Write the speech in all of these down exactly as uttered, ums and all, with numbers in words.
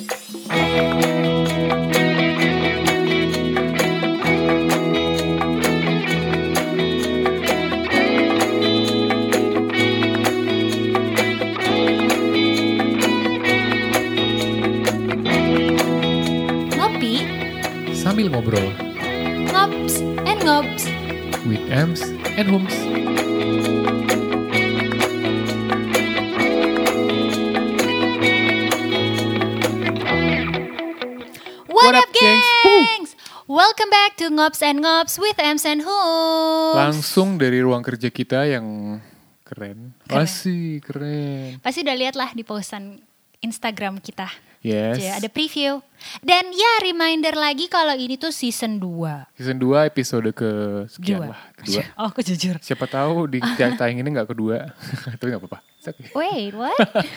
Ngopi sambil ngobrol Ngops and Ngops with Ems and Hums. What, What up up, gengs? gengs? Welcome back to Ngops and Ngops with Ems and Hums. Langsung dari ruang kerja kita yang keren. Keren. Masih keren. Pasti udah lihat lah di postan Instagram kita. Yes. Cie, ada preview. Dan ya reminder lagi kalau ini tuh season dua. Season dua episode ke sekian Dua. lah. Kedua. Oh aku jujur. Siapa tahu di tayang ini gak kedua. Tapi gak apa-apa. It's okay. Wait, what?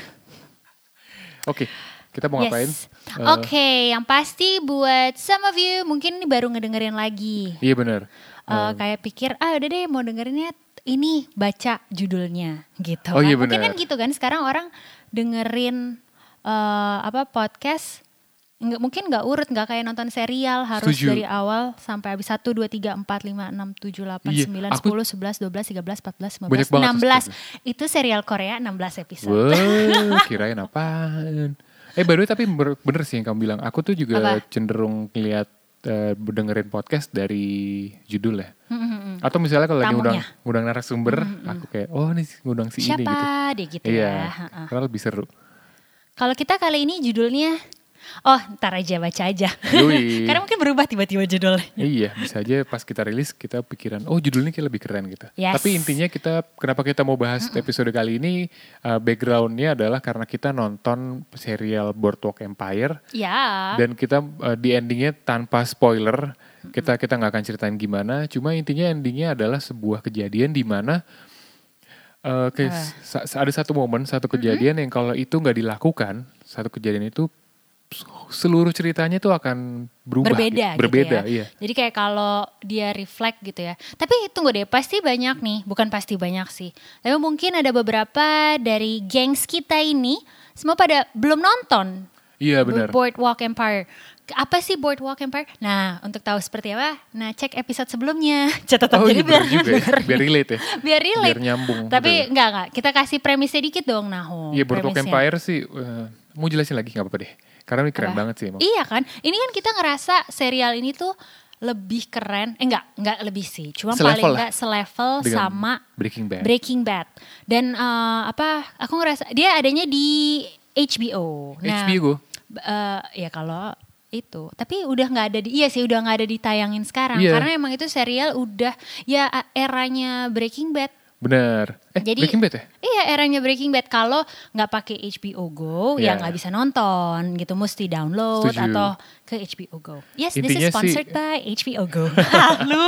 Oke, kita mau ngapain? Yes. Uh, Oke, okay, yang pasti buat some of you mungkin ini baru ngedengerin lagi. Iya benar. Uh, kayak pikir, ah udah deh mau dengerinnya ini baca judulnya gitu. Oh, kan. iya Mungkin benar. kan gitu kan sekarang orang dengerin uh, apa podcast nggak mungkin nggak urut, nggak kayak nonton serial harus Setuju. dari awal sampai habis satu dua tiga empat lima enam tujuh delapan Iya, sembilan aku- sepuluh sebelas dua belas tiga belas empat belas lima Banyak belas banget enam belas. tuh, Itu serial Korea enam belas episode. Wow, kirain apaan? Eh by the way tapi ber- bener sih yang kamu bilang. Aku tuh juga Apa? cenderung ngeliat uh, dengerin podcast dari judul ya. Hmm, Atau misalnya kalau lagi ngundang, Tamunya. ngundang narasumber, aku kayak oh ini ngundang si Siapa ini gitu. deh gitu Iya, ya. Ha-ha. karena lebih seru. Kalau kita kali ini judulnya, oh ntar aja baca aja. Yoi. Karena mungkin berubah tiba-tiba judulnya. Iya, bisa aja pas kita rilis kita pikiran, oh judulnya kayak lebih keren gitu. Yes. Tapi intinya kita, kenapa kita mau bahas episode kali ini, uh, backgroundnya adalah karena kita nonton serial Boardwalk Empire. Ya. Dan kita uh, di endingnya tanpa spoiler, kita kita nggak akan ceritain gimana. Cuma intinya endingnya adalah sebuah kejadian di mana uh, ke- Ah. sa- sa- ada satu momen, satu kejadian yang kalau itu nggak dilakukan, satu kejadian itu seluruh ceritanya tuh akan berubah. Berbeda gitu. Berbeda, gitu ya. iya. Jadi kayak kalau dia reflect gitu ya. Tapi tunggu deh, pasti banyak nih, bukan pasti banyak sih. Tapi mungkin ada beberapa dari gengs kita ini semua pada belum nonton. Iya benar. Boardwalk Empire. Apa sih Boardwalk Empire? Nah, untuk tahu seperti apa, nah cek episode sebelumnya. Catatan Oh jadi iya biar benar juga ya, dengerin. biar relate ya. Biar relate. Biar nyambung. Tapi betul. enggak enggak, kita kasih premisnya dikit dong Naho. Iya Boardwalk premisnya. Empire sih, uh, mau jelasin lagi gak apa-apa deh. Karena ini keren Apa? banget sih emang. Iya kan? Ini kan kita ngerasa serial ini tuh lebih keren. Eh enggak, enggak lebih sih. Cuma Selevel paling lah. enggak selevel Dengan sama Breaking Bad. Breaking Bad. Dan eh, apa? Aku ngerasa dia adanya di H B O. H B O. eh, ya kalau itu. Tapi udah nggak ada di. Iya sih, udah nggak ada ditayangin sekarang. Iya. Karena emang itu serial udah ya eranya Breaking Bad. Bener. Eh Jadi, Breaking Bad ya? Iya, eranya Breaking Bad. Kalau nggak pakai H B O Go, Iya. ya nggak bisa nonton gitu. Mesti download Setuju. atau ke H B O Go. Yes, this Intinya is sponsored sih- by H B O Go. Lu?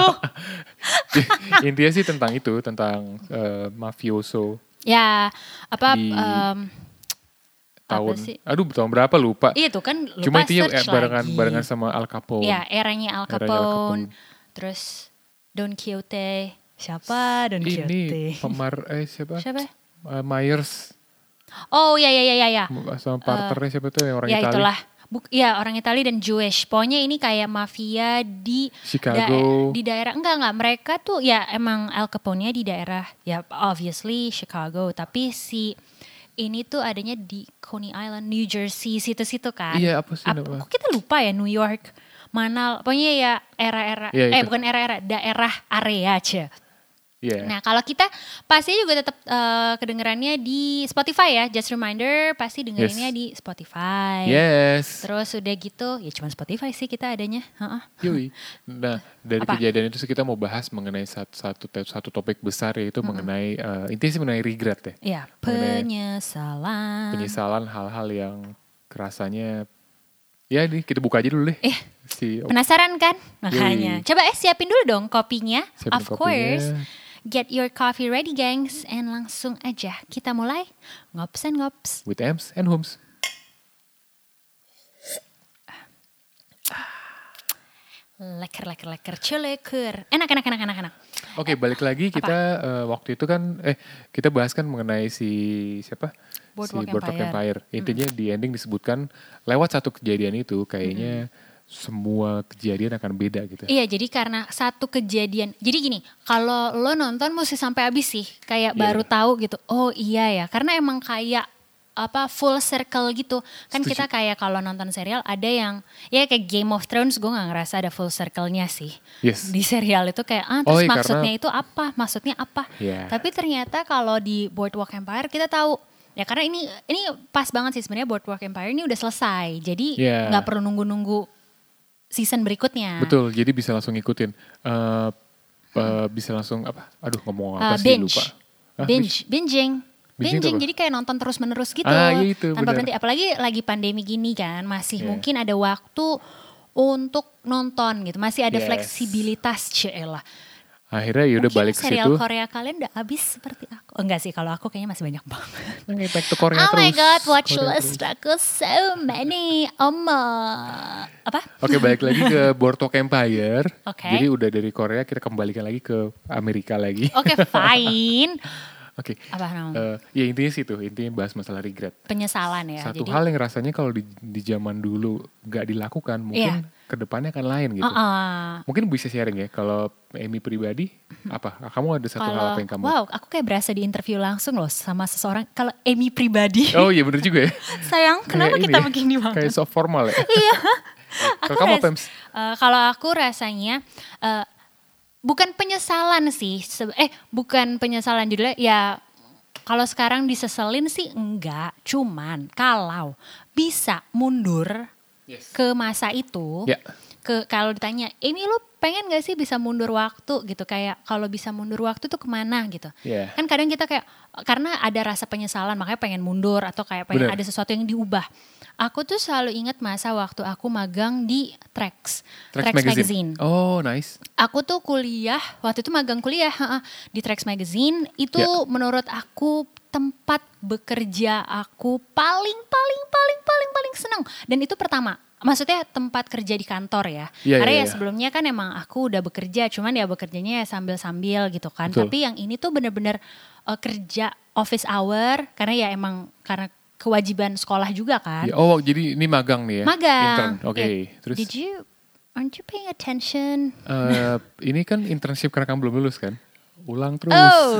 Intinya sih tentang itu, tentang uh, mafioso Ya, apa? Di em, tahun. apa sih? Aduh tahun berapa lupa. Iya tuh kan lupa Cuma intinya search eh, barengan lagi. barengan sama Al Capone. Ya, eranya Al Eranya Al Capone. Capone. Terus Don Quixote. Siapa Don Quixote? Ini pemar eh siapa? Siapa? Uh, Myers Oh ya ya ya ya ya. sama partnernya siapa tuh yang orang Ya Italia. itulah. Buk, ya orang Italia dan Jewish. Pokoknya ini kayak mafia di Chicago. di daerah enggak enggak mereka tuh ya emang Al Capone-nya di daerah ya obviously Chicago, tapi si ini tuh adanya di Coney Island, New Jersey, situ-situ kan. Iya, apa sih Ap- nama? Kok kita lupa ya New York. Mana pokoknya ya era-era Iya, eh itu. bukan era-era, daerah area aja. Iya. Nah kalau kita pasti juga tetap eh, kedengerannya di Spotify ya. Just reminder pasti dengerinnya Yes. di Spotify. Yes. Terus udah gitu ya cuma Spotify sih kita adanya. Heeh. Yui. Nah, dari Apa? kejadian itu sih kita mau bahas mengenai satu satu, satu topik besar yaitu mengenai uh, intinya sih mengenai regret ya. Ya Mengenai penyesalan. penyesalan hal-hal yang kerasanya ya nih kita buka aja dulu deh. Eh Si penasaran kan? Makanya. Yoi. Coba eh siapin dulu dong kopinya. Siapin of kopinya. course. Get your coffee ready gengs. And langsung aja kita mulai ngops and ngops. with Ems and Hums. Leker leker leker culeker. Enak enak enak enak enak. Oke, balik lagi kita uh, waktu itu kan eh kita bahas kan mengenai si siapa? Boardwalk si Boardwalk Empire. Empire. Intinya di ending disebutkan lewat satu kejadian itu kayaknya Mm-mm. semua kejadian akan beda gitu. Iya, jadi karena satu kejadian. Jadi gini, kalau lo nonton mesti sampai habis sih, kayak Iya, baru bener. tahu gitu. Oh iya ya, karena emang kayak apa full circle gitu. Kan Setuju. kita kayak kalau nonton serial ada yang ya kayak Game of Thrones, gue nggak ngerasa ada full circle-nya sih. Yes. Di serial itu kayak ah Oh, terus iya, maksudnya karena- itu apa? Maksudnya apa? Iya. Tapi ternyata kalau di Boardwalk Empire kita tahu. Ya karena ini ini pas banget sih sebenarnya Boardwalk Empire ini udah selesai. Jadi Iya. nggak perlu nunggu-nunggu season berikutnya. Betul, jadi bisa langsung ngikutin. Eh, eh, bisa langsung apa? Aduh, ngomong apa Uh, sih binge. lupa. Hah, binge, binging. Binging Binging, itu apa? jadi kayak nonton terus menerus gitu. Ah, iya itu, tanpa benar. berhenti. Apalagi lagi pandemi gini kan, masih Yeah. mungkin ada waktu untuk nonton gitu. Masih ada Yes. fleksibilitas, celah. Akhirnya yaudah Mungkin balik ke serial situ. Korea kalian udah habis seperti aku. Oh enggak sih, kalau aku kayaknya masih banyak banget. Nah, back to Korea Oh terus. my god, watch Korea list terus. aku so many. Oma. Apa? Oke, balik lagi ke Boardwalk Empire. Oke. Jadi udah dari Korea kita kembalikan lagi ke Amerika lagi. Oke, fine. Oke. Apa namanya? Eh, ya intinya sih tuh, intinya bahas masalah regret. Penyesalan ya. Satu jadi, hal yang rasanya kalau di, di zaman dulu gak dilakukan, mungkin kedepannya akan lain gitu. Uh-uh. Mungkin bisa sharing ya, kalau Amy pribadi, apa? Kamu ada satu hal Kalau apa yang kamu... wow, aku kayak berasa di interview langsung loh sama seseorang. Kalau Amy pribadi, Oh iya bener juga ya. sayang, kenapa Kayak kita ini ya, begini banget? Kayak soft formal ya. Iya. Kalau Aku kamu ras- apa, Ems? eh, kalau aku rasanya eh, bukan penyesalan sih. Se- Eh, bukan penyesalan judulnya. Ya, kalau sekarang diseselin sih enggak. Cuman kalau bisa mundur Yes. ke masa itu. Ya. Ke kalau ditanya, Amy lu pengen gak sih bisa mundur waktu gitu, kayak kalau bisa mundur waktu tuh kemana gitu. Iya. Kan kadang kita kayak karena ada rasa penyesalan makanya pengen mundur atau kayak pengen Bener. ada sesuatu yang diubah. Aku tuh selalu ingat masa waktu aku magang di Trax, Trax Magazine. Oh nice. Aku tuh kuliah, waktu itu magang kuliah heeh, di Trax Magazine. Itu Ya. menurut aku tempat bekerja aku paling paling paling paling paling senang. Dan itu pertama, maksudnya tempat kerja di kantor ya. Ya, Karena ya, ya, ya. sebelumnya kan emang aku udah bekerja, cuman ya bekerjanya ya sambil-sambil gitu kan. Betul. Tapi yang ini tuh bener-bener uh, kerja office hour, karena ya emang karena kewajiban sekolah juga kan. Ya, oh jadi ini magang nih ya? Magang. Intern, oke. Ya, Terus Did you, aren't you paying attention? eh, ini kan internship karena kamu belum lulus kan? Ulang terus. Oh.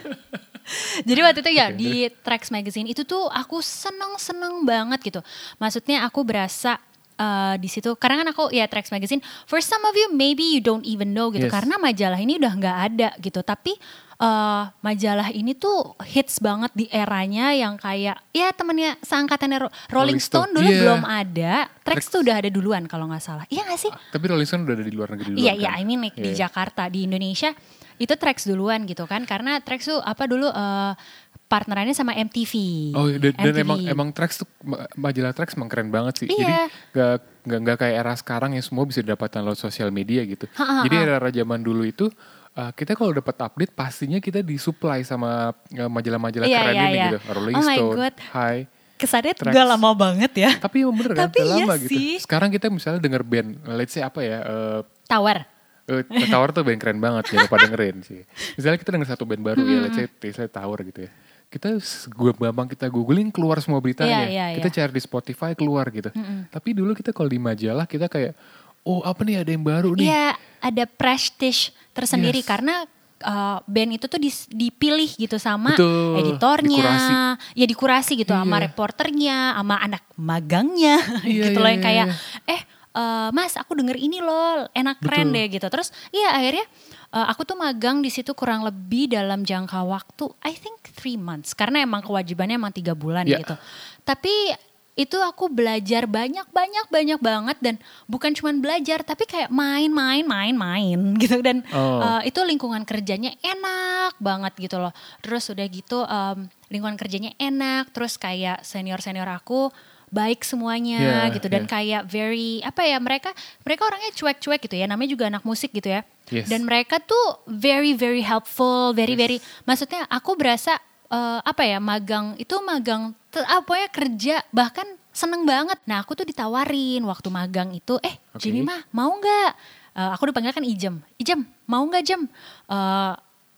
Jadi waktu itu ya Oke, di Trax Magazine itu tuh aku seneng-seneng banget gitu. Maksudnya aku berasa uh, di situ karena kan aku ya Trax Magazine. For some of you maybe you don't even know gitu Yes. karena majalah ini udah nggak ada gitu. Tapi uh, majalah ini tuh hits banget di eranya yang kayak ya temennya seangkatannya Ro- Rolling Rolling Stone. Stone dulu Iya. belum ada. Trax Trax. tuh udah ada duluan kalau nggak salah. Iya nggak sih? Tapi Rolling Stone udah ada di luar negeri dulu Iya, iya, kan? I mean like di Iya. Jakarta, di Indonesia itu Trax duluan gitu kan. Karena Trax tuh apa dulu eh, partnerannya sama M T V. Oh dan, dan M T V. emang emang Trax tuh ma- majalah Trax emang keren banget sih. Jadi Iya. gak, gak, gak kayak era sekarang yang semua bisa didapatkan lewat sosial media gitu. Ha, ha, Jadi ha. era zaman dulu itu uh, kita kalau dapat update pastinya kita disuplai sama uh, majalah-majalah Iya, keren iya, ini iya. gitu. Rolling Oh my Stone, God. Hi. Kesannya Trax. gak lama banget ya. Tapi emang bener kan, Tapi udah iya lama gitu. sih. Sekarang kita misalnya denger band, let's say apa ya, uh, Tower. Uh, Tower tuh band keren banget, jangan lupa dengerin sih. Misalnya kita denger satu band baru ya, let's say, let's say Tower gitu ya. Kita gue gampang kita googling keluar semua beritanya. Iya, iya, Kita iya. cari di Spotify keluar gitu. Tapi dulu kita kalau di majalah kita kayak, oh apa nih ada yang baru nih. Iya, ada prestige tersendiri Yes. karena uh, band itu tuh dis- dipilih gitu sama Betul, editornya, dikurasi. ya dikurasi gitu sama Iya. reporternya, sama anak magangnya, Iya, gitu loh iya, yang kayak, iya. eh uh, Mas aku denger ini loh, enak keren Betul. deh gitu. Terus iya akhirnya uh, aku tuh magang di situ kurang lebih dalam jangka waktu, I think three months, karena emang kewajibannya emang tiga bulan Iya. gitu. Tapi itu aku belajar banyak banyak banyak banget dan bukan cuman belajar tapi kayak main-main main-main gitu dan Oh. uh, itu lingkungan kerjanya enak banget gitu loh. Terus udah gitu um, lingkungan kerjanya enak, terus kayak senior-senior aku baik semuanya Yeah, gitu dan yeah. kayak very apa ya mereka mereka orangnya cuek-cuek gitu ya, namanya juga anak musik gitu ya. Yes. Dan mereka tuh very very helpful, very Yes. very maksudnya aku berasa eh, apa ya magang itu magang te- apa ya kerja bahkan seneng banget. Nah aku tuh ditawarin waktu magang itu, eh Oke. Jemima mau nggak? Eh, aku dipanggil kan Ijem, Ijem mau nggak Jem? Eh,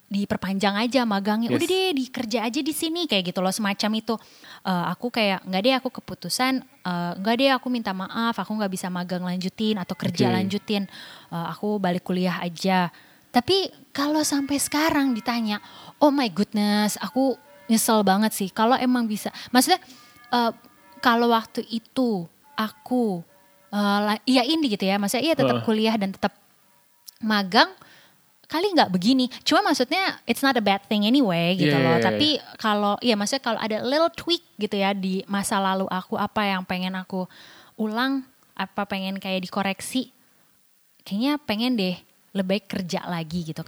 diperpanjang aja magangnya, Yes. udah deh dikerja aja di sini kayak gitu loh, semacam itu. Uh, aku kayak nggak deh, aku keputusan uh, nggak deh, aku minta maaf, aku nggak bisa magang lanjutin atau kerja Okay. lanjutin, uh, aku balik kuliah aja. Tapi kalau sampai sekarang ditanya, oh my goodness, aku nyesel banget sih. Kalau emang bisa, maksudnya uh, kalau waktu itu aku uh, iyain gitu ya, maksudnya iya tetap Uh. kuliah dan tetap magang, kali nggak begini. Cuma maksudnya it's not a bad thing anyway gitu Yeah, loh. yeah, yeah. Tapi kalau ya maksudnya kalau ada little tweak gitu ya di masa lalu aku, apa yang pengen aku ulang, apa pengen kayak dikoreksi, kayaknya pengen deh lebih baik kerja lagi gitu.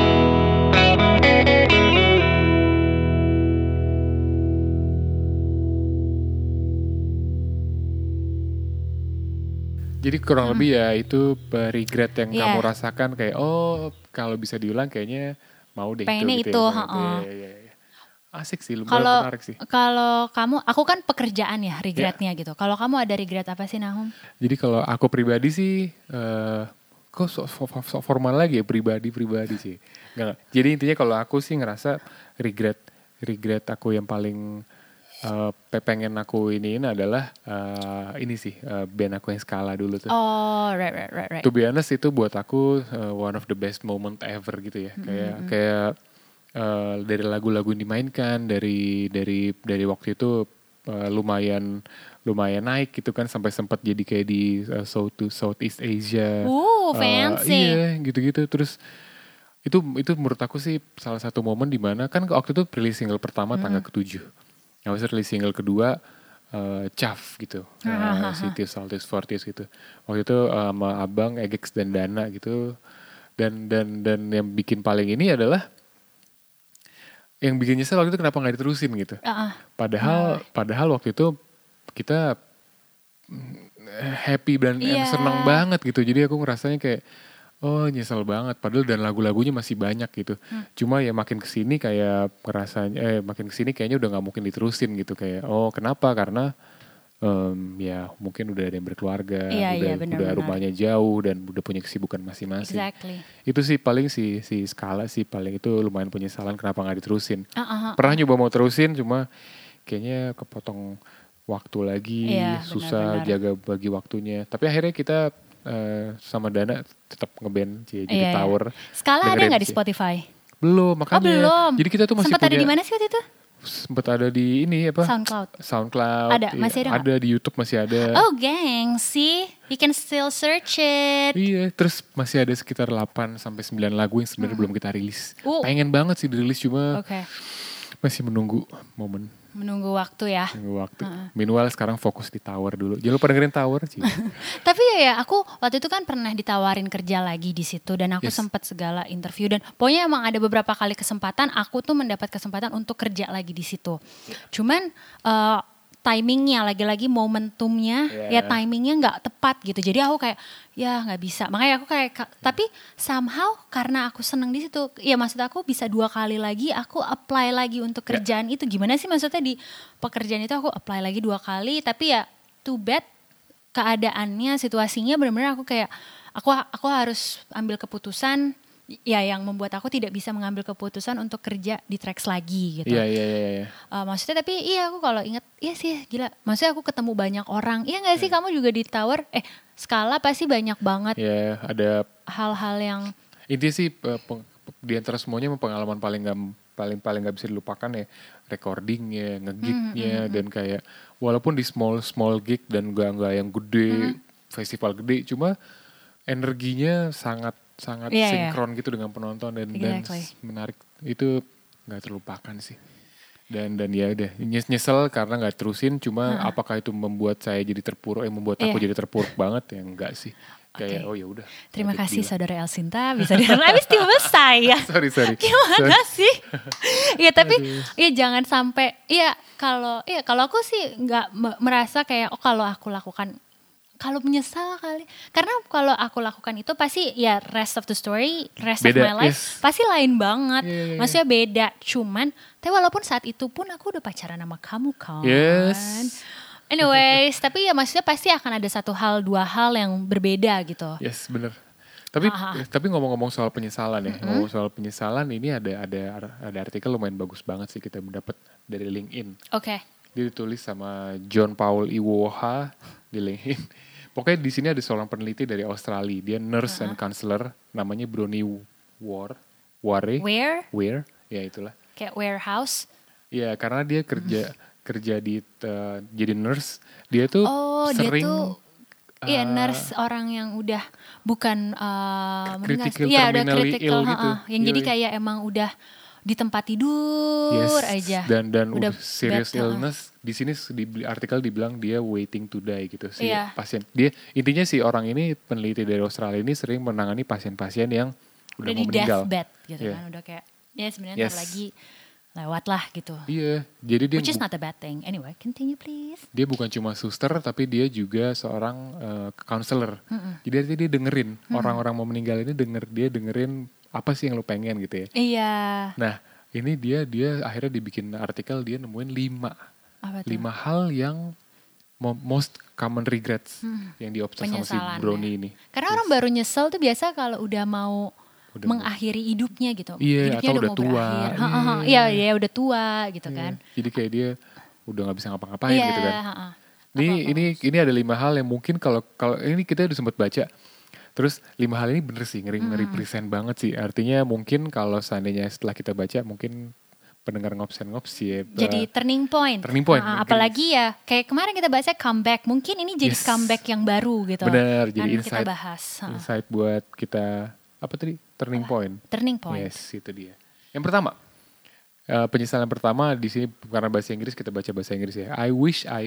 Jadi kurang Hmm. lebih ya itu uh, regret yang Yeah. kamu rasakan kayak oh kalau bisa diulang kayaknya mau deh Pengennya itu itu, gitu ya. heeh. Iya, iya, iya. Asik sih, lumayan Kalau menarik sih. kalau kamu, aku kan pekerjaan ya regretnya gitu. Kalau kamu ada regret apa sih, Nahum? Jadi kalau aku pribadi sih, eh kok so, so, so formal lagi ya pribadi-pribadi sih. Nggak, jadi intinya kalau aku sih ngerasa regret, regret aku yang paling eh, pengen aku iniin adalah eh, ini sih eh, band aku yang Skala dulu tuh. Oh, right, right, right, right. To be honest itu buat aku uh, one of the best moment ever gitu ya. Mm-hmm. Kayak kayak uh, dari lagu-lagu yang dimainkan dari dari dari waktu itu uh, lumayan lumayan naik gitu kan sampai sempat jadi kayak di uh, South to Southeast Asia. Ooh, Uh, fancy. iya, gitu-gitu. Terus itu itu menurut aku sih salah satu momen di mana kan waktu itu rilis single pertama Mm-hmm. tanggal ketujuh. Habis itu rilis single kedua uh, Chaff gitu, uh, City Saltis Fortis gitu. Waktu itu uh, sama Abang, Egex dan Dana gitu. Dan dan dan yang bikin paling ini adalah yang bikin nyesel waktu itu kenapa nggak diterusin gitu. Uh-uh. Padahal padahal waktu itu kita happy dan Yeah. senang banget gitu. Jadi aku ngerasanya kayak oh nyesel banget. Padahal dan lagu-lagunya masih banyak gitu. Hmm. Cuma ya makin kesini kayak ngerasanya, eh makin kesini kayaknya udah nggak mungkin diterusin gitu. Kayak oh kenapa? Karena um, ya mungkin udah ada yang berkeluarga, Iya, udah iya, benar, udah benar. rumahnya jauh dan udah punya kesibukan masing-masing. Exactly. Itu sih paling si si Skala sih paling itu lumayan penyesalan kenapa nggak diterusin. Uh, uh, uh, Pernah nyoba mau terusin cuma kayaknya kepotong waktu lagi, Iya, susah benar-benar. jaga bagi waktunya. Tapi akhirnya kita uh, sama Dana tetap ngeband jadi Iya, iya. Tower. Skala ada Dengerin nggak di sih. Spotify? Belum, makanya. Oh belum. Jadi kita tuh masih Sempat ada punya di mana sih waktu itu? sempat ada di ini apa? SoundCloud. SoundCloud. Ada, iya, masih ada nggak? Ada di YouTube masih ada. Oh gang, see, you can still search it. Iya, terus masih ada sekitar delapan sampai sembilan lagu yang sebenarnya belum kita rilis. Uh. Pengen banget sih dirilis cuma Oke, okay. masih menunggu momen, menunggu waktu ya. menunggu waktu. Meanwhile sekarang fokus di Tower dulu. Jangan lupa dengerin Tower sih. Tapi ya, ya aku waktu itu kan pernah ditawarin kerja lagi di situ dan aku Yes. sempat segala interview dan pokoknya emang ada beberapa kali kesempatan aku tuh mendapat kesempatan untuk kerja lagi di situ. Cuman uh, timingnya lagi-lagi momentumnya Yeah. ya timingnya nggak tepat gitu. Jadi aku kayak ya nggak bisa. Makanya aku kayak ka- tapi somehow karena aku seneng di situ. Ya maksud aku bisa dua kali lagi aku apply lagi untuk kerjaan itu. Gimana sih maksudnya di pekerjaan itu aku apply lagi dua kali tapi ya too bad keadaannya, situasinya benar-benar aku kayak aku aku harus ambil keputusan ya yang membuat aku tidak bisa mengambil keputusan untuk kerja di Trax lagi gitu. Iya, iya, iya, iya. Uh, maksudnya tapi iya aku kalau inget iya sih gila. Maksudnya aku ketemu banyak orang. Iya nggak sih Hmm. kamu juga di Tower? Eh Skala pasti banyak banget Ya, ada hal-hal yang intinya sih eh, peng- di antara semuanya emang pengalaman paling nggak paling paling nggak bisa dilupakan ya recordingnya, ngegignya dan kayak walaupun di small small gig dan nggak nggak yang gede festival gede, cuma energinya sangat sangat Iya, iya. sinkron gitu dengan penonton dan dan Exactly. menarik itu nggak terlupakan sih. Dan dan ya udah nyes- nyesel karena nggak terusin, cuma apakah itu membuat saya jadi terpuruk, eh membuat aku Iya. jadi terpuruk banget ya enggak sih. Kayak Oke. oh ya udah. terima let it kasih be lah. saudara Elsinta bisa dengar habis tiba saya. Sorry sorry. Gimana Sorry. sih? Ya tapi Aduh. ya jangan sampai ya kalau ya kalau aku sih nggak me- merasa kayak oh kalau aku lakukan kalau menyesal kali. Karena kalau aku lakukan itu pasti ya rest of the story, rest Beda, of my life yes. pasti lain banget. Iya, iya, iya. Maksudnya beda. Cuman tapi walaupun saat itu pun aku udah pacaran sama kamu kan. Yes. Anyways, tapi ya maksudnya pasti akan ada satu hal, dua hal yang berbeda gitu. Yes, bener. Tapi Ah, ah. tapi ngomong-ngomong soal penyesalan ya, Mm-mm. ngomong soal penyesalan ini ada ada ada artikel lumayan bagus banget sih kita mendapat dari LinkedIn. Oke. Dia ditulis sama John Paul Iwoha di LinkedIn. Pokoknya di sini ada seorang peneliti dari Australia, dia nurse and counselor, namanya Bronnie Ware, Ware, Where? Ware, ya itulah. Kayak warehouse. Ya karena dia kerja kerja di uh, jadi nurse, dia tuh Oh, sering dia tuh iya uh, nurse orang yang udah bukan uh, critical, ya udah terminally critical, ill gitu. ha-ha. Yang jadi Yoi. kayak emang udah di tempat tidur Yes, aja. dan dan Udah udah serious bad, uh-uh. illness. Di sini di artikel dibilang dia waiting to die gitu si Iya. pasien. Dia intinya si orang ini peneliti dari Australia ini sering menangani pasien-pasien yang udah, Udah mau di meninggal. deathbed gitu Iya. kan, udah kayak ya sebenarnya Yes. ntar lagi lewat lah gitu. Iya, jadi dia Which is bu- not a bad thing. Anyway, continue please. dia bukan cuma suster tapi dia juga seorang uh, counselor. Jadi artinya dia dengerin orang-orang mau meninggal ini denger dia dengerin apa sih yang lu pengen gitu ya. Iya. Nah, ini dia dia akhirnya dibikin artikel dia nemuin lima Apa tuh? lima hal yang mo- most common regrets yang diobserv sama si Penyesalan, Brownie ya. ini. Karena orang baru nyesel tuh biasa kalau udah mau Udah mengakhiri hidupnya gitu. Iya, Hidupnya atau udah mau tua. berakhir. Ha, ha, ha. Iya. Iya, iya udah tua gitu Iya. kan. Jadi kayak dia udah nggak bisa ngapa-ngapain Iya, gitu kan. ha, ha. Ini Apa-apa. ini ini ada lima hal yang mungkin kalau kalau ini kita udah sempat baca. Terus lima hal ini bener sih ngeri ngeri present banget sih. Artinya mungkin kalau seandainya setelah kita baca mungkin pendengar ngopsen-ngops ya. Jadi turning point. turning point, Ha, mungkin. apalagi ya kayak kemarin kita bahasnya comeback. Mungkin ini jadi Yes. comeback yang baru gitu. Bener, jadi Kan kita insight bahas. Ha. insight buat kita apa tadi turning point. Turning point. Yes, itu dia. Yang pertama, eh, penyesalan pertama di sini karena bahasa Inggris kita baca bahasa Inggris ya. I wish I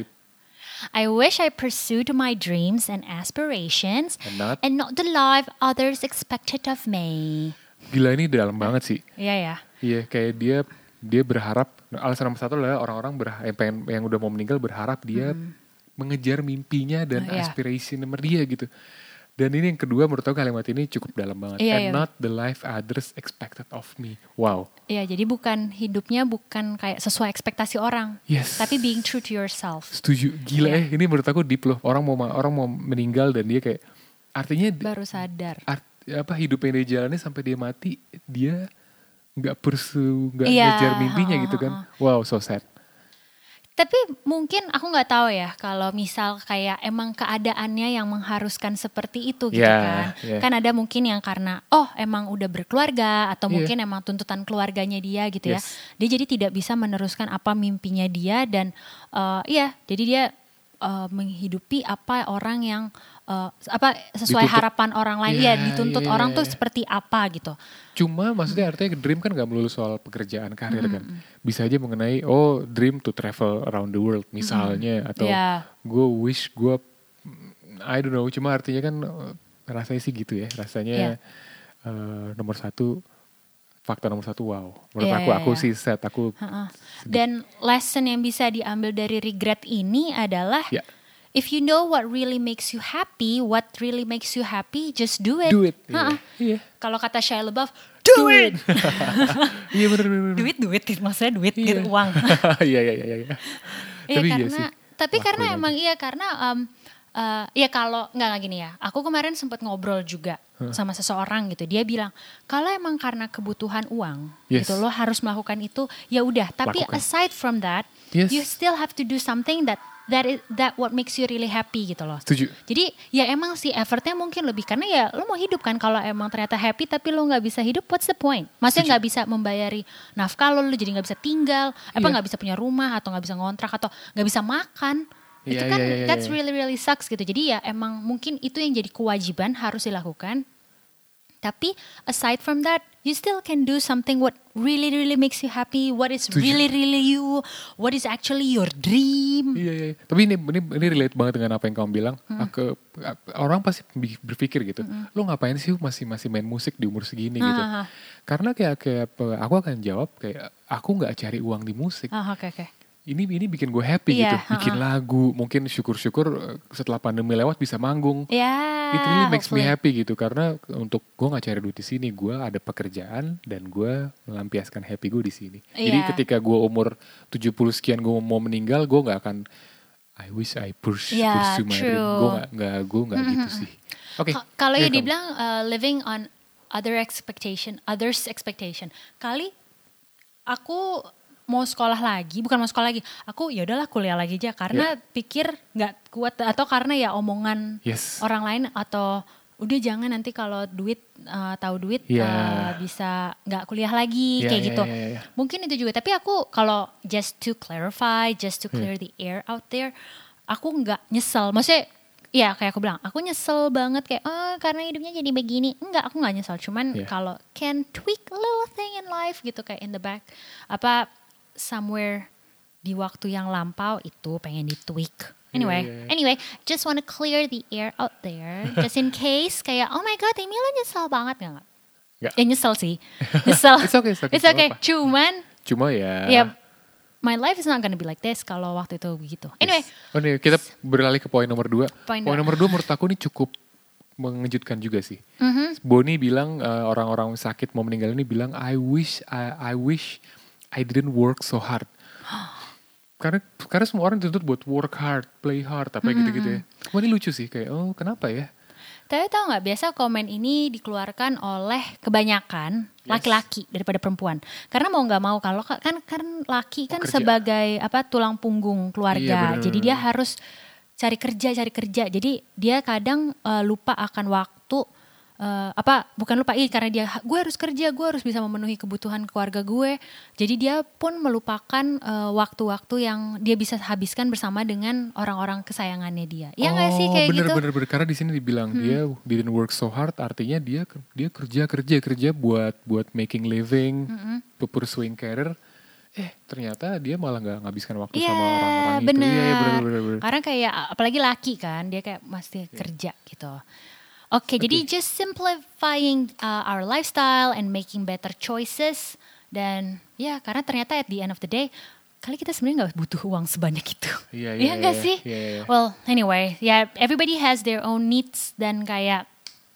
I wish I pursued my dreams and aspirations and not. and not the life others expected of me. Gila ini dalam banget sih. Iya ya. Iya, kayak dia dia berharap alasan nomor satu adalah orang-orang berha- yang pengen yang udah mau meninggal berharap dia mengejar mimpinya dan Oh, iya. aspirasi nomor dia gitu. Dan ini yang kedua menurut aku kalimat ini cukup dalam banget. Iya, And iya. not the life others expected of me. Wow. Iya, jadi bukan hidupnya bukan kayak sesuai ekspektasi orang, Yes. tapi being true to yourself. Setuju. Gila Iya. eh ini menurut aku deep loh. Orang mau ma- orang mau meninggal dan dia kayak artinya d- Baru sadar. art, apa hidup yang dia jalani sampai dia mati dia nggak pursue nggak Iya, ngejar mimpinya ha, gitu ha, kan. Wow, so sad. Tapi mungkin aku nggak tahu ya kalau misal kayak emang keadaannya yang mengharuskan seperti itu gitu Iya, kan. iya. Kan ada mungkin yang karena oh emang udah berkeluarga atau Iya. mungkin emang tuntutan keluarganya dia gitu ya. Yes. Dia jadi tidak bisa meneruskan apa mimpinya dia dan eh, iya jadi dia eh, menghidupi apa orang yang eh, apa sesuai Dituntut. harapan orang lain Iya, ya dituntut iya, orang iya, tuh iya. seperti apa gitu. Cuma maksudnya artinya dream kan gak melulu soal pekerjaan karir kan. Bisa aja mengenai oh dream to travel around the world misalnya. Atau Iya. gue wish gue I don't know. Cuma artinya kan eh, rasanya sih gitu ya. Rasanya Iya. eh, nomor satu fakta nomor satu wow. Menurut Iya, aku iya, aku iya. sih set. Aku Ha-ha. Dan lesson yang bisa diambil dari regret ini adalah ya if you know what really makes you happy, what really makes you happy, just do it. do it. Ha-ha. Iya. Kalau kata Shia LaBeouf, do it. Iya bener bener. bener. duit, duit, maksudnya duit Iya. gitu, uang. Iya iya iya. iya. Iya Tapi iya karena, sih. tapi karena Lakuin emang iya karena, um, uh, ya kalau nggak nggak gini ya, aku kemarin sempat ngobrol juga sama seseorang gitu, dia bilang kalau emang karena kebutuhan uang, Yes. gitu lo harus melakukan itu, ya udah. Tapi Lakukan. aside from that, Yes. you still have to do something that that is that what makes you really happy gitu loh. Setuju. Jadi ya emang sih effortnya mungkin lebih karena ya lo mau hidup kan kalau emang ternyata happy tapi lo nggak bisa hidup, what's the point? Maksudnya nggak bisa membayari nafkah lo, lo jadi nggak bisa tinggal, apa Iya. nggak bisa punya rumah atau nggak bisa ngontrak atau nggak bisa makan. Iya, Itu kan iya, iya, that's iya. really really sucks gitu. Jadi ya emang mungkin itu yang jadi kewajiban harus dilakukan. Tapi aside from that, you still can do something what really really makes you happy, what is Setuju. really really you, what is actually your dream. Iya, iya. Tapi ini, ini ini relate banget dengan apa yang kamu bilang. Aku, orang pasti bi- berpikir gitu. Lo ngapain sih masih masih main musik di umur segini gitu? Ah, ah. Karena kayak kayak pe- aku akan jawab kayak aku nggak cari uang di musik. Ah, oke oke. Ini ini bikin gue happy Iya, gitu. Bikin lagu, mungkin syukur-syukur eh, setelah pandemi lewat bisa manggung. Ya. It really makes me hopefully. happy gitu karena untuk gue nggak cari duit di sini, gue ada pekerjaan dan gue melampiaskan happy gue di sini. Jadi Iya. ketika gue umur tujuh puluh sekian gue mau meninggal, gue nggak akan I wish I pursue, Yeah, pursue my dream. true. Gue nggak nggak gue nggak gitu sih. Oke. Ka- Kalau Iya, ya kamu. dibilang uh, living on other expectation, others expectation. Kali aku mau sekolah lagi, bukan mau sekolah lagi. Aku ya udahlah kuliah lagi aja karena pikir nggak kuat atau karena ya omongan Yes. orang lain atau udah jangan nanti kalau duit uh, tahu duit Yeah. uh, bisa nggak kuliah lagi Yeah, kayak yeah, gitu. yeah, yeah, yeah. Mungkin itu juga. Tapi aku kalau just to clarify, just to clear the air out there, aku nggak nyesel. Maksudnya ya kayak aku bilang, aku nyesel banget kayak oh karena hidupnya jadi begini. Enggak, aku nggak nyesel. Cuman Yeah. kalau can tweak a little thing in life gitu kayak in the back apa somewhere di waktu yang lampau itu pengen di tweak. Anyway, Yeah, yeah, yeah. anyway, just wanna clear the air out there, just in case kayak oh my god, Emi lo nyesel banget nggak? Nggak. Ya nyesel sih, nyesel. It's okay, it's okay, It's nggak okay. apa-apa. Cuman Cuma ya. ya my life is not gonna be like this kalau waktu itu begitu. Anyway, Oh nih, kita beralih ke poin nomor dua. Poin Poin dua. nomor dua menurut aku ini cukup mengejutkan juga sih. mhm. Boni bilang eh, orang-orang sakit mau meninggal ini bilang I wish I, I wish I didn't work so hard. Karena karena semua orang dituntut buat work hard, play hard, apa gitu-gitu ya. Cuma ini lucu sih kayak oh kenapa ya? Tapi tahu nggak biasa komen ini dikeluarkan oleh kebanyakan Yes. laki-laki daripada perempuan. Karena mau nggak mau kalau ka- kan kan laki kan kerja. sebagai apa tulang punggung Iya, keluarga. bener, Jadi bener, dia bener. harus cari kerja cari kerja. Jadi dia kadang eh, lupa akan waktu eh, apa bukan lupa ih karena dia gue harus kerja gue harus bisa memenuhi kebutuhan keluarga gue. Jadi dia pun melupakan eh, waktu-waktu yang dia bisa habiskan bersama dengan orang-orang kesayangannya dia. Iya nggak sih kayak bener, gitu? bener, bener. Karena di sini dibilang dia didn't work so hard, artinya dia dia kerja kerja kerja buat buat making living, pursuing career. Eh ternyata dia malah nggak ngabiskan waktu Iya sama orang-orang itu. benar. Iya, iya, bener, bener, bener. Karena kayak apalagi laki kan dia kayak masih kerja gitu. Oke, jadi just simplifying uh, our lifestyle and making better choices dan ya karena ternyata at the end of the day kali kita sebenarnya nggak butuh uang sebanyak itu. Iya, iya, Iya nggak iya, sih? iya, iya. Well, anyway, ya yeah, everybody has their own needs dan kayak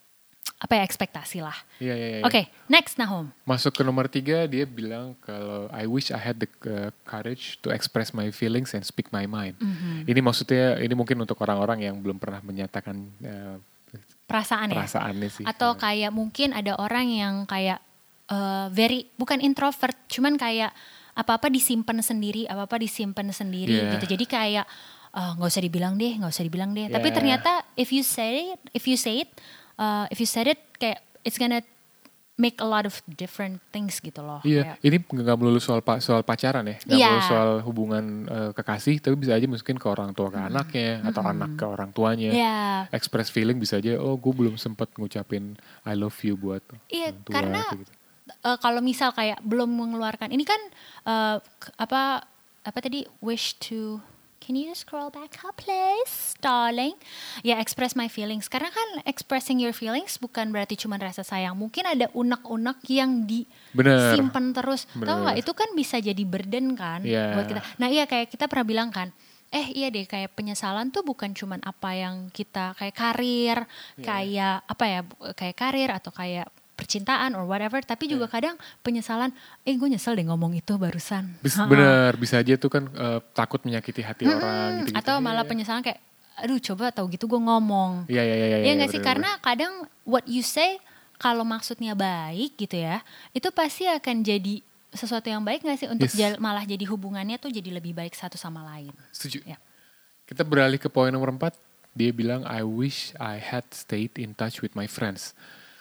apa ya ekspektasi lah. Iya, iya, iya. Oke, next Nahum. Masuk ke nomor tiga, dia bilang kalau I wish I had the uh, courage to express my feelings and speak my mind. Mhm. Ini maksudnya, ini mungkin untuk orang-orang yang belum pernah menyatakan uh, Perasaan ya. perasaannya sih. Atau Uh, kayak mungkin ada orang yang kayak uh, very bukan introvert, cuman kayak apa-apa disimpan sendiri, apa-apa disimpan sendiri Yeah. gitu. Jadi kayak uh, nggak usah dibilang deh, nggak usah dibilang deh. Tapi Yeah. ternyata if you say it, if you say it, uh, if you said it, kayak it's gonna make a lot of different things gitu loh. Iya, Kayak, ini nggak melulu soal pa- soal pacaran ya, nggak Iya. melulu soal hubungan uh, kekasih, tapi bisa aja mungkin ke orang tua ke anaknya atau anak ke orang tuanya. ya, Express feeling bisa aja, oh gue belum sempat ngucapin I love you buat iya orang tua. karena kayak gitu. uh, kalau misal kayak belum mengeluarkan ini kan uh, k- apa apa tadi wish to can you scroll back up please darling ya express my feelings karena kan expressing your feelings bukan berarti cuma rasa sayang mungkin ada unek-unek yang Bener. disimpan terus Bener. tahu nggak itu kan bisa jadi burden kan Iya. buat kita nah iya kayak kita pernah bilang kan eh iya deh kayak penyesalan tuh bukan cuman apa yang kita kayak karir kayak apa ya bu- kayak karir atau kayak percintaan or whatever tapi juga kadang penyesalan eh gue nyesel deh ngomong itu barusan Bis- Ha-ha. bener, bisa aja tuh kan uh, takut menyakiti hati orang gitu. atau malah penyesalan kayak aduh coba tahu gitu gue ngomong Iya, iya, iya. iya, ya nggak sih bener, karena kadang what you say kalau maksudnya baik gitu ya itu pasti akan jadi sesuatu yang baik nggak sih untuk Yes. jal- malah jadi hubungannya tuh jadi lebih baik satu sama lain bener. Setuju. Ya. Kita beralih ke poin nomor empat. Dia bilang I wish I had stayed in touch with my friends.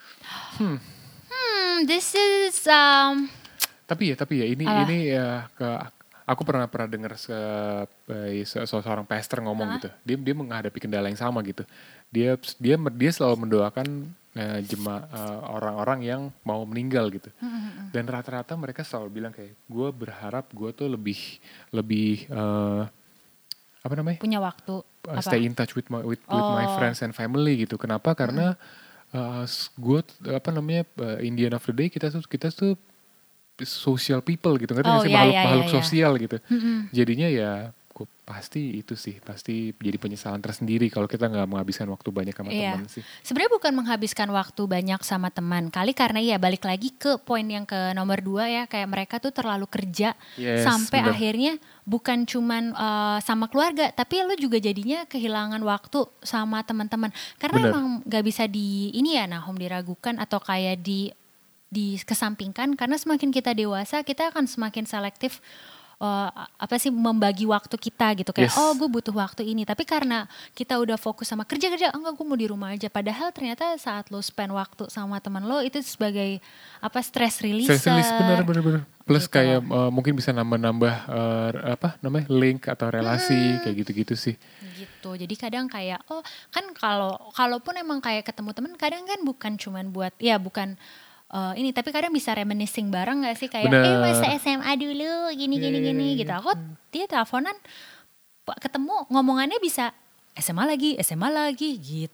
hmm this is um Tapi ya, tapi ya ini Apa? ini ya ke aku pernah pernah dengar se, eh, se- seorang pastor ngomong gitu. Dia dia menghadapi kendala yang sama gitu. Dia dia dia selalu mendoakan eh, jema eh, orang-orang yang mau meninggal gitu. Dan rata-rata mereka selalu bilang kayak gue berharap gue tuh lebih lebih eh, apa namanya? punya waktu uh, apa stay in touch with my with, with my Oh. friends and family gitu. Kenapa? Karena uh, gue apa namanya uh, in the end of the day kita tuh kita tuh social people gitu, ngerti nggak Oh, sih iya, makhluk iya, makhluk iya, iya. sosial gitu. Mm-mm. Jadinya ya aku pasti itu sih, pasti jadi penyesalan tersendiri kalau kita nggak menghabiskan waktu banyak sama Iya. teman sih. Sebenarnya bukan menghabiskan waktu banyak sama teman. Kali karena ya balik lagi ke poin yang ke nomor dua ya. Kayak mereka tuh terlalu kerja. Yes, sampai bener. akhirnya bukan cuman uh, sama keluarga. Tapi lu juga jadinya kehilangan waktu sama teman-teman. Karena Bener. emang gak bisa di ini ya Nahum diragukan atau kayak di dikesampingkan. Karena semakin kita dewasa kita akan semakin selektif. Uh, apa sih membagi waktu kita gitu kayak Yes. oh gue butuh waktu ini tapi karena kita udah fokus sama kerja-kerja enggak gue mau di rumah aja padahal ternyata saat lo spend waktu sama teman lo itu sebagai apa stress releaser. Stress release bener bener bener. Plus Gitu. kayak uh, mungkin bisa nambah-nambah uh, apa namanya link atau relasi Hmm. kayak gitu-gitu sih. Gitu jadi kadang kayak oh kan kalau kalaupun emang kayak ketemu teman kadang kan bukan cuman buat ya bukan Uh, ini tapi kadang bisa reminiscing bareng gak sih kayak Bener. eh masa S M A dulu gini gini Iya, iya, gini iya. gitu aku dia teleponan pa- ketemu ngomongannya bisa S M A lagi S M A lagi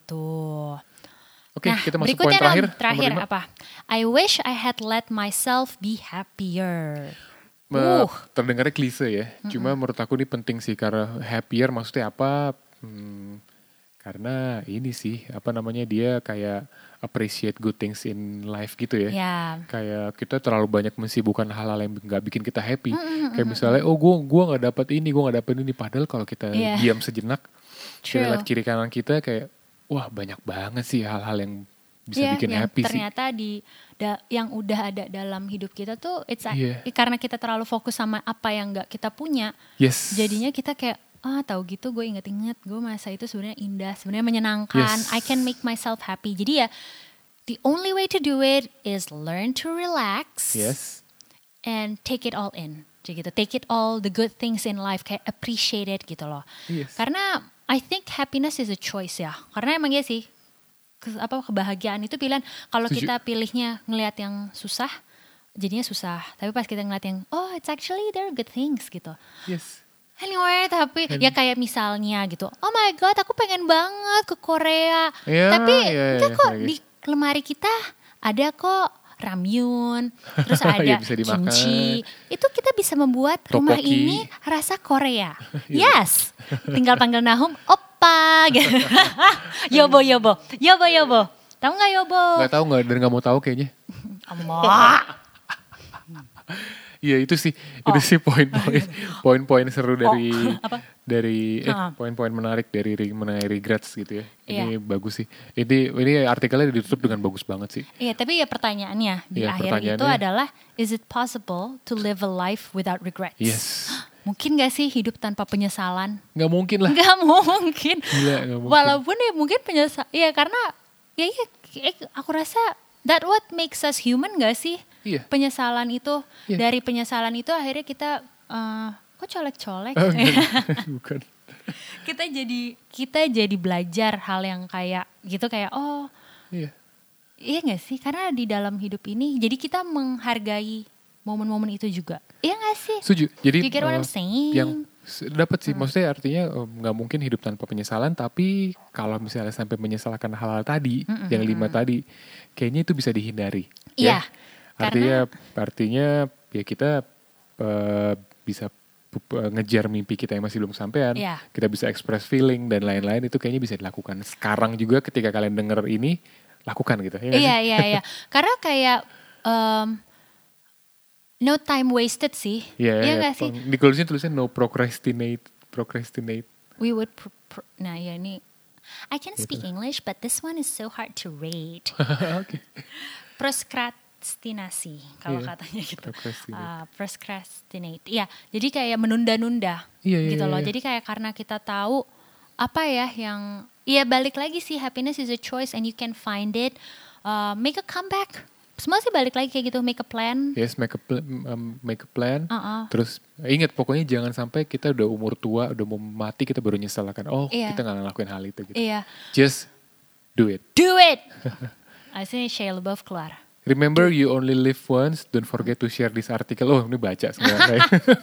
gitu. Oke, Nah kita masuk berikutnya poin terakhir. Ram, terakhir nomor lima. apa? I wish I had let myself be happier. Me- Uh. Terdengarnya klise ya. Cuma menurut aku ini penting sih karena happier maksudnya apa? Hmm, karena ini sih apa namanya dia kayak appreciate good things in life gitu ya. Ya. Kayak kita terlalu banyak mensibukkan hal-hal yang nggak bikin kita happy. Kayak misalnya, oh gue gua nggak dapat ini, gue nggak dapat ini. Padahal kalau kita Iya. diam sejenak, kita True. lihat kiri kanan kita kayak, wah banyak banget sih hal-hal yang bisa Iya, bikin yang happy sih. ternyata di da- yang udah ada dalam hidup kita tuh it's a- Iya. karena kita terlalu fokus sama apa yang nggak kita punya. Yes. Jadinya kita kayak ah tahu gitu gue inget-inget gue masa itu sebenarnya indah, sebenarnya menyenangkan. Yes. I can make myself happy. Jadi ya the only way to do it is learn to relax Yes. and take it all in. Jadi gitu, take it all the good things in life kayak appreciate it gitu loh. Yes. Karena I think happiness is a choice ya. Karena emang ya sih ke- apa kebahagiaan itu pilihan. Kalau Setuju. kita pilihnya ngelihat yang susah, jadinya susah. Tapi pas kita ngeliat yang oh it's actually there are good things gitu. Yes. Anyway, tapi ya kayak misalnya gitu. Oh my god, aku pengen banget ke Korea. Iya, tapi iya, enggak iya, kok lagi. di lemari kita ada kok ramyun, terus ada Iya, bisa dimakan. kimchi. Itu kita bisa membuat rumah Tteokbokki. ini rasa Korea. Iya. Yes. Tinggal panggil Nahum, oppa gitu. Yobo, yobo. Yobo, yobo. Tahu nggak yobo? Gak tahu nggak dan nggak mau tahu kayaknya. Emak. Iya itu sih, Oh. itu sih poin-poin, poin-poin seru dari apa? dari eh, Ah. poin-poin menarik dari re- mengenai regrets gitu ya. Ini Iya. bagus sih. Ini ini artikelnya ditutup dengan bagus banget sih. Iya, tapi ya pertanyaannya di Iya, akhir itu pertanyaannya. adalah is it possible to live a life without regrets? Yes. Mungkin gak sih hidup tanpa penyesalan? Nggak mungkin lah. Gak mungkin. Gila, nggak mungkin. Walaupun ya mungkin penyesal, ya karena ya, ya eh, aku rasa that what makes us human gak sih? Iya. Penyesalan itu Iya. dari penyesalan itu akhirnya kita eh, kok colek-colek? Oh, enggak. Bukan. kita jadi kita jadi belajar hal yang kayak gitu kayak oh Iya. iya gak sih? Karena di dalam hidup ini jadi kita menghargai momen-momen itu juga. Iya gak sih? Setuju. Jadi You get what I'm eh, saying? yang s- dapat sih, maksudnya artinya eh, nggak mungkin hidup tanpa penyesalan. Tapi kalau misalnya sampai menyesalkan hal-hal tadi, yang lima tadi, kayaknya itu bisa dihindari. Iya, Ya. Artinya, artinya ya kita eh, bisa pu- pu- ngejar mimpi kita yang masih belum sampean. Iya. Kita bisa express feeling dan lain-lain itu kayaknya bisa dilakukan. Sekarang juga ketika kalian denger ini, lakukan gitu. Ya nggak Iya, sih? iya, iya. Karena kayak um, no time wasted sih. Iya, Iya iya. gak sih? Di tulisnya tulisnya no procrastinate, procrastinate. We would pro- pro- nah ya ini I can speak English but this one is so hard to read. Oke. Proskrastinasi kalau Iya, katanya gitu. procrastinate. Uh, proskrastinate. Iya, jadi kayak menunda-nunda Iya, iya, gitu iya, loh. iya. Jadi kayak karena kita tahu apa ya yang iya balik lagi sih happiness is a choice and you can find it. Uh, make a comeback. Semua sih balik lagi kayak gitu, make a plan. Yes, make a plan, um, make a plan. Uh-uh. Terus ingat pokoknya jangan sampai kita udah umur tua, udah mau mati kita baru nyesel kan. Oh, Iya. kita nggak ngelakuin hal itu gitu. Iya. Just do it. Do it. Aslinya Shia LaBeouf keluar. Remember you only live once. Don't forget to share this article. Oh, ini baca sebenarnya.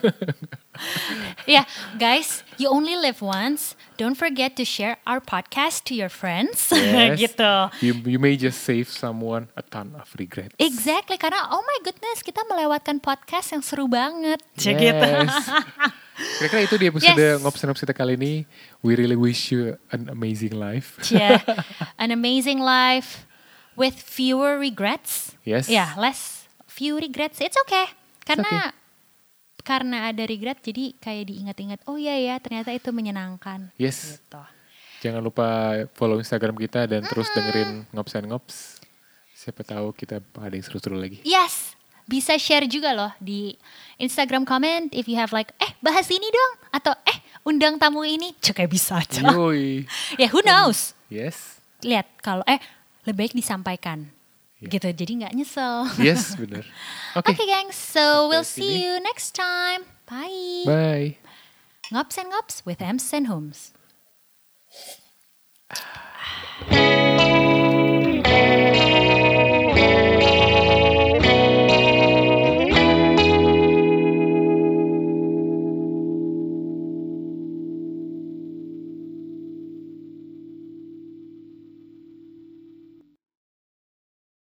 Ya, guys, you only live once. Don't forget to share our podcast to your friends. Yes. gitu. You, you may just save someone a ton of regrets. Exactly, karena oh my goodness, kita melewatkan podcast yang seru banget. Yes. Gitu. Kira-kira itu di episode Yes. Ngops-Ngops kita kali ini. We really wish you an amazing life. Yeah, an amazing life with fewer regrets. Yes. Yeah, less few regrets. It's okay. Karena okay. karena ada regret jadi kayak diingat-ingat. Oh iya ya, ternyata itu menyenangkan. Yes. Gitu. Jangan lupa follow Instagram kita dan terus dengerin Ngops and Ngops. Siapa tahu kita ada yang seru-seru lagi. Yes, bisa share juga loh di Instagram comment if you have like, eh bahas ini dong. Atau eh undang tamu ini. Cuk kayak bisa aja. Yoi. Ya who knows. Yes. Lihat kalau eh lebih baik disampaikan. Yeah. Gitu, jadi gak nyesel. Yes, benar. Oke. Okay, gengs, so we'll sini. see you next time. Bye. Bye. Ngops and Ngops with Ems and Homes.